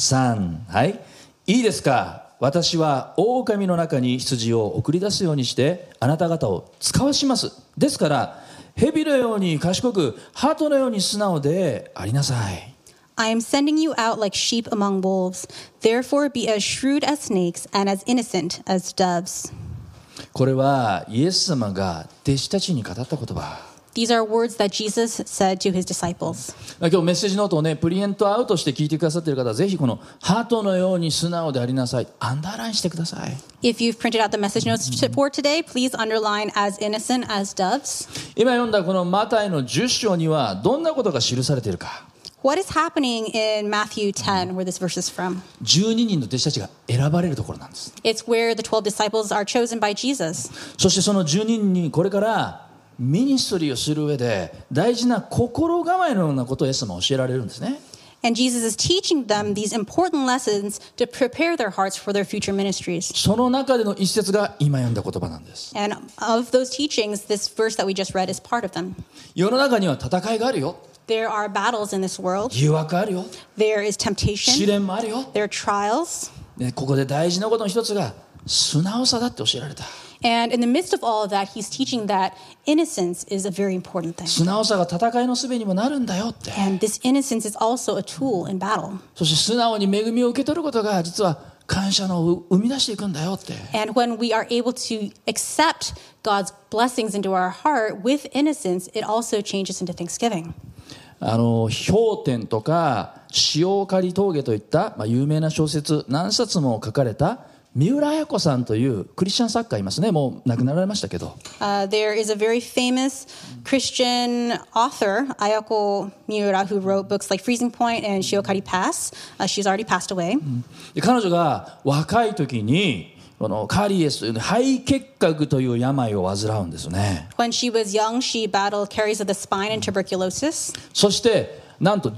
3、はい。いいですか。私は狼の中に羊を送り出すようにしてあなた方を使わします。ですから蛇のように賢く鳩のように素直でありなさい。 I am sending you out like sheep among wolves. Therefore be as shrewd as snakes and as innocent as doves. これはイエス様が弟子たちに語った言葉。 These are words that Jesus said to his disciples. 今日メッセージノートをねプリントアウトして聞いてくださっている方はぜひこの鳩のように素直でありなさいアンダーラインしてください。 If you've printed out the message notes for today, please underline as innocent as doves. 今読んだこのマタイの10章にはどんなことが記されているか。 What is happening in Matthew 10, where this verse is from? 12人の弟子たちが選ばれるところなんです。 It's where the 12 disciples are chosen by Jesus. そしてその12人にこれからミニストリーをする上で大事な心構えのようなことをイエス様は教えられるんですね。 And Jesus is teaching them these important lessons to prepare their hearts for their future ministries. その中での一節が今読んだ言葉なんです。 And of those teachings, this verse that we just read is part of them. 世の中には戦いがあるよ。 There are battles in this world. 誘惑あるよ。 There is 試 temptation. 練もあるよ。 There are trials. でここで大事なことの一つが素直さだって教えられた。 And in the midst of all of that, he's teaching that innocence is a very important thing. 素直さが戦いの術にもなるんだよって。 And this innocence is also a tool in battle. そして素直に恵みを受け取ることが実は感謝の生み出していくんだよって。 And when we are able to accept God's blessings into our heart with innocence, it also changes into thanksgiving. 氷点とか塩刈峠といった、有名な小説何冊も書かれた三浦綾子さんというクリスチャン作家いますね。もう亡くなられましたけど、 There is a very famous Christian author, Ayako Miura, who wrote books like Freezing Point and Shiokari Pass. She's already passed away. で彼女が若い時にこのカリエスという肺結核という病を患うんですね。 When she was young, she battled caries of the spine and tuberculosis. そしてなんと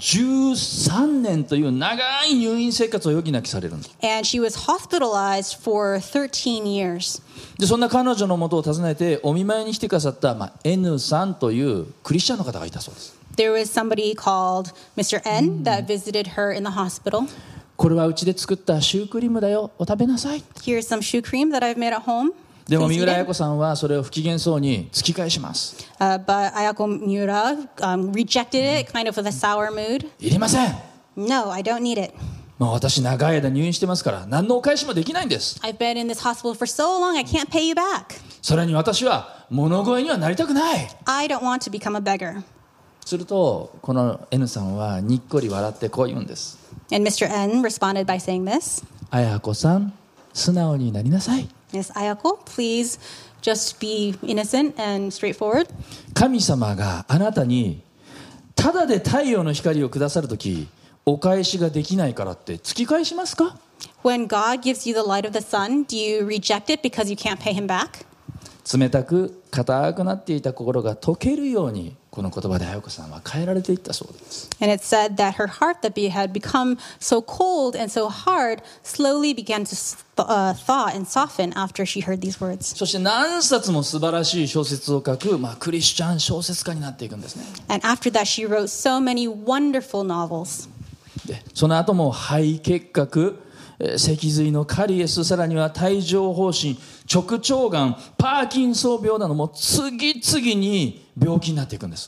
13年という長い入院生活を余儀なきされるんです。 And she was hospitalized for 13 years. でそんな彼女の元を訪ねてお見舞いに来てくださった、N さんというクリスチャンの方がいたそうです。 There was somebody called Mr. N that visited her in the hospital. これはうちで作ったシュークリームだよ、お食べなさい。 Here's some shoe cream that I've made at home. でも Please 三 eat 浦 it. 綾子さんはそれを不機嫌そうに突き返します。 But Ayako Miura rejected it kind of with a sour mood. いりません。 No, I don't need it. もう私長い間入院してますから何のお返しもできないんです。 I've been in this hospital for so long, I can't pay you back. それに私は物乞いにはなりたくない。 I don't want to become a beggar. するとこの N さんはにっこり笑ってこう言うんです。 And Mr. N responded by saying this. 綾子さん、素直になりなさい。 Yes, Ayako, please just be innocent and straightforward. 神様があなたにただで太陽の光をくださるときお返しができないからって突き返しますか？ When God gives you the light of the sun, do you reject it because you can't pay him back? 冷たく硬くなっていた心が溶けるようにこの言葉で綾子さんは変えられていったそうです。 And it said that her heart that had become so cold and so hard slowly began to thaw and soften after she heard these words. そして何冊も素晴らしい小説を書く、クリスチャン小説家になっていくんですね。 And after that, she wrote so many wonderful novels. でその後も肺結核、脊髄のカリエス、さらには帯状疱疹、直腸がん、パーキンソン病なども次々に病気になっていくんです。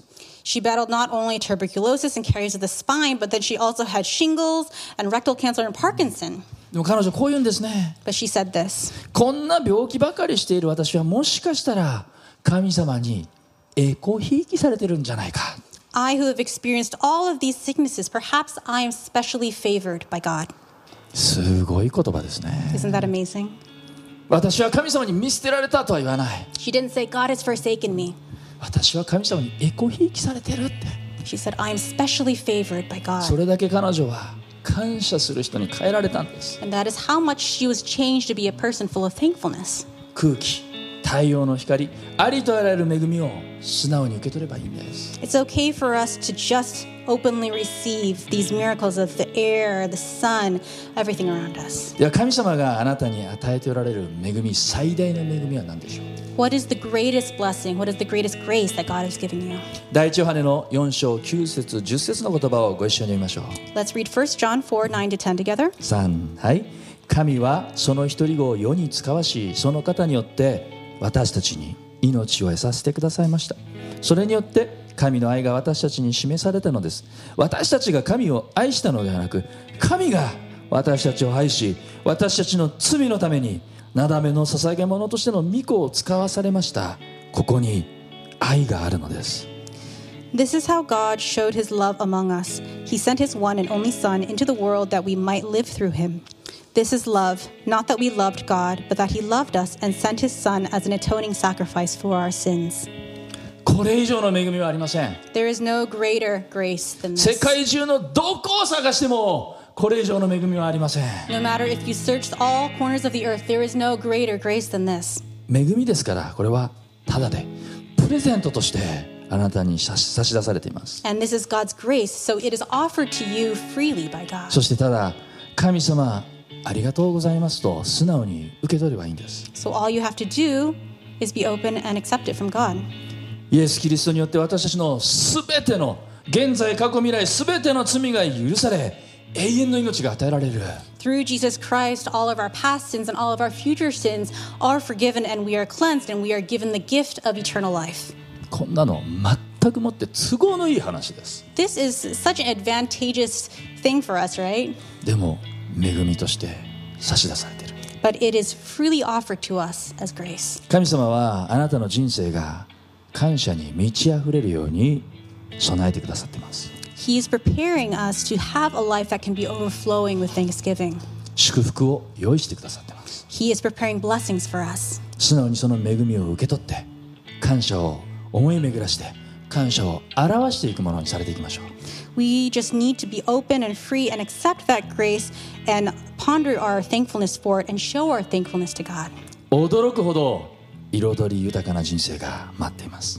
She battled not only tuberculosis and caries of the spine, but then she also had shingles and rectal cancer and Parkinson. でも彼女こう言うんですね。 But she said this. こんな病気ばかりしている私はもしかしたら神様に栄光ひいきされてるんじゃないか。 I who have experienced all of these sicknesses, perhaps I am specially favored by God. すごい言葉ですね。 Isn't that amazing? 私は神様に見捨てられたとは言わない。 She didn't say, God has forsaken me. 私は神様に栄光ひいきされてるって。 She said, I am specially favored by そ God. れだけ彼女は感謝する人に変えられたんです。 And that is how much she was changed to be a person full of thankfulness. 空気、太陽の光、ありとあらゆる恵みを素直に受け取ればいいんです。 It's okay for us to just openly receive these miracles of the air, the sun, everything around us. では神様があなたに与えておられる恵み、最大の恵みは何でしょう。 What is the greatest blessing? What is the greatest grace that God has given you? 第一ヨハネの4章9節10節の言葉をご一緒に読みましょう。 Let's read 1 John 4, 9 to 10 together. 3、はい。神はその一人子を世に使わし、その方によって私たちに命を得させてくださいました。それによって神の愛が私たちに示されたのです。私たちが神を愛したのではなく、神が私たちを愛し、私たちの罪のためになだめの捧げ物としての御子を使わされました。ここに愛があるのです。 This is how God showed his love among us. He sent his one and only Son into the world that we might live through him. This is love, not that we loved God, but that he loved us and sent his Son as an atoning sacrifice for our sins. これ以上の恵みはありません。 There is no greater grace than 世 this. 界中のどこを探してもこれ以上の恵みはありません。 No matter if you searched all corners of the earth, there is no greater grace than this. 恵みですから、これはただでプレゼントとしてあなたに差し出されています。 And this is God's grace, so it is offered to you freely by God. そしてただ神様ありがとうございますと素直に受け取ればいいんです。 So all you have to do is be open and accept it from God. イエス・キリストによって私たちのすべての現在過去未来すべての罪が許され、永遠の命が与えられる。 Through Jesus Christ, all of our past sins and all of our future sins are forgiven and we are cleansed and we are given the gift of eternal life. こんなの全くもって都合のいい話です。 This is such an advantageous thing for us, right? でも恵みとして差し出されている。 But it is freely offered to us as grace. 神様はあなたの人生が感謝に満ち溢れるように備えてくださっています。 He is preparing us to have a life that can be overflowing with thanksgiving. 祝福を用意してくださっています。 He is preparing blessings for us. 素直にその恵みを受け取って感謝を思い巡らして感謝を表していくものにされていきましょう。 We just need to be open and free and accept that grace and ponder our thankfulness for it and show our thankfulness to God. 驚くほど彩り豊かな人生が待っています。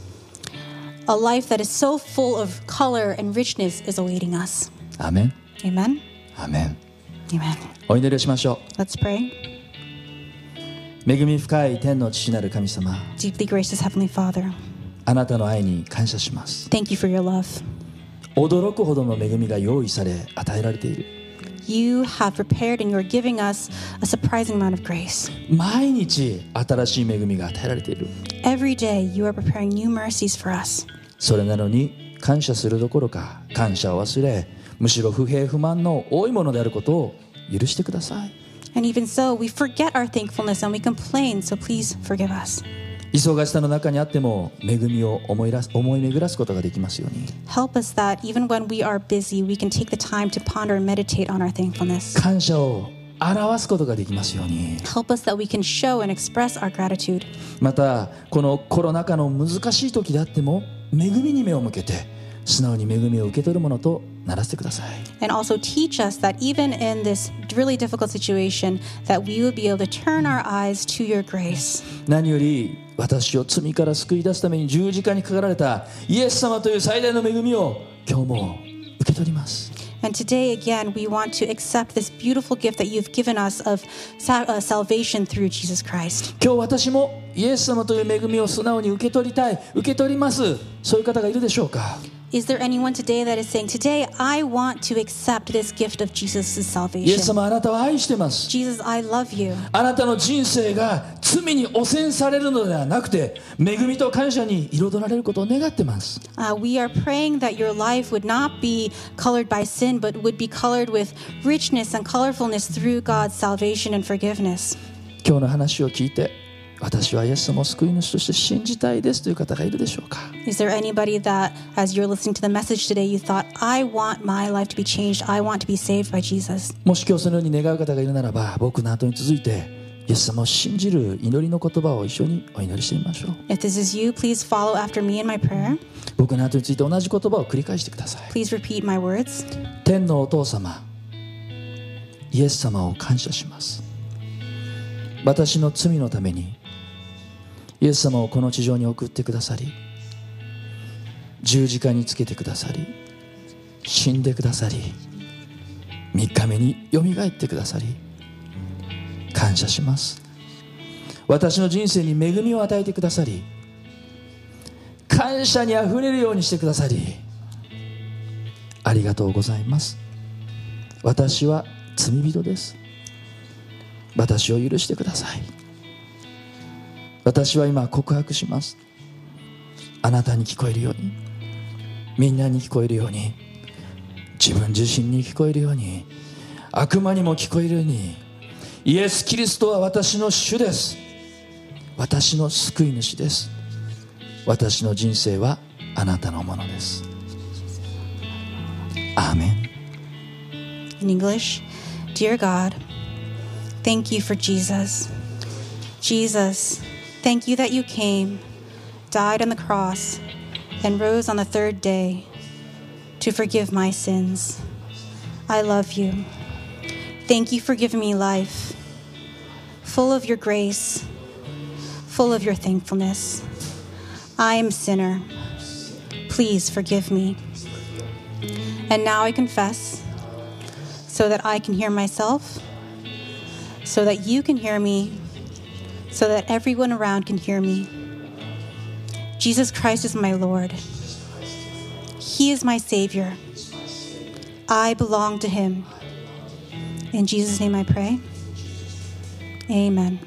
A life that is so full of color and richness is awaiting us. アメン。 Amen? アメン。 Amen. お祈りをしましょ Let's pray. う。恵み深い天の父なる神様、 Deeply gracious Heavenly Father, あなたの愛に感謝します。 thank you for your love. 驚くほどの恵みが用意され与えられている。 You have prepared and you're giving us a surprising amount of grace. 毎日新しい恵みが与えられている。 Every day you are preparing new mercies for us. それなのに感謝するどころか感謝を忘れ、むしろ不平不満の多いものであることを許してください。 And even so, we forget our thankfulness and we complain, so please forgive us. 忙しさの中にあっても恵みを思い巡らすことができますように。 Help us that even when we are busy, we can take the time to ponder and meditate on our thankfulness. 感謝を表すことができますように。 Help us that we can show and express our gratitude. またこのコロナ禍の難しい時であっても恵みに目を向けて素直に恵みを受け取るものとならせてください。 And also teach us that even in this really difficult situation, that we will be able to turn our eyes to your grace. 何より私を罪から救い出すために十字架にかかられたイエス様という最大の恵みを今日も受け取ります。 And today again, we want to accept this beautiful gift that you've given us of salvation through Jesus Christ. 今日私もイエス様という恵みを素直に受け取りたい、受け取ります、そういう方がいるでしょうか。 Is there anyone today that is saying, today I want to accept this gift of Jesus' イエス salvation? 様あなたは愛してます。 Jesus, I love you. あなたの人生が罪に汚染されるのではなくて、恵みと感謝に彩られることを願ってます。 We are praying that your life would not be colored by sin, but would be colored with richness and colorfulness through God's salvation and forgiveness. 今日の話を聞いて、私はイエス様を救い主として信じたいですという方がいるでしょうか。 Is there anybody that, as you're listening to the message today, you thought, I want my life to be changed. I want to be saved by Jesus. もし今日そのように願う方がいるならば、僕の後に続いてイエス様を信じる祈りの言葉を一緒にお祈りしてみましょう。 If this is you, please follow after me in my prayer. 僕の後について同じ言葉を繰り返してください。 Please repeat my words. 天のお父様、イエス様を感謝します。私の罪のためにイエス様をこの地上に送ってくださり、十字架につけてくださり、死んでくださり、3日目によみがえってくださり、感謝します。私の人生に恵みを与えてくださり、感謝にあふれるようにしてくださり、ありがとうございます。私は罪人です。私を許してください。私は今告白します。あなたに聞こえるように、みんなに聞こえるように、自分自身に聞こえるように、悪魔にも聞こえるように、イエス・キリストは私の主です。私の救い主です。私の人生はあなたのものです。アーメン。 In English, Dear God, thank you for Jesus. Jesus, thank you that you came, died on the cross, and rose on the third day to forgive my sins. I love you. Thank you for giving me life, full of your grace, full of your thankfulness. I am a sinner. Please forgive me. And now I confess, so that I can hear myself, so that you can hear me, so that everyone around can hear me. Jesus Christ is my Lord. He is my Savior. I belong to Him. In Jesus' name I pray. Amen.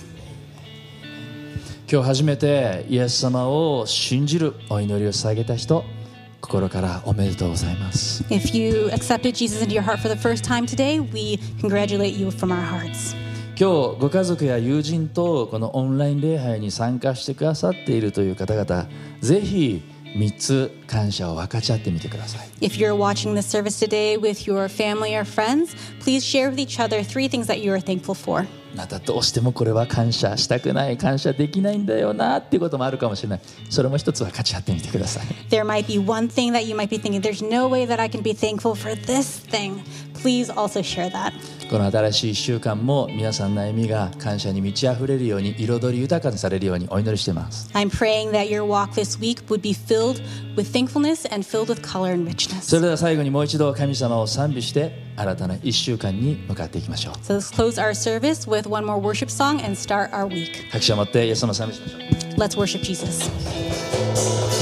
今日初めてイエス様を信じるお祈りを捧げた人、心からおめでとうございます。 If you accepted Jesus into your heart for the first time today, we congratulate you from our hearts. 今日ご家族や友人とこのオンライン礼拝に参加してくださっているという方々、ぜひ3つ感謝を分かち合ってみてください。 If you're watching this service today with your family or friends, please share with each other 3 things that you are thankful for. またどうしてもこれは感謝したくない、感謝できないんだよなっていうこともあるかもしれない。それも一つ分かち合ってみてください。 There might be one thing that you might be thinking, there's no way that I can be thankful for this thing. Please also share that. この新しい1週間も皆さんの歩みが感謝に満ち溢れるように、彩り豊かにされるようにお祈りしています。 I'm praying that your walk this week would be filled with thankfulness and filled with color and そ richness. れでは最後にもう一度神様を賛美して新たな1週間に向かっていきましょう。 So let's close our service with one more worship song and start our week. 拍手を持ってイエス様を賛美しましょう。 Let's worship Jesus.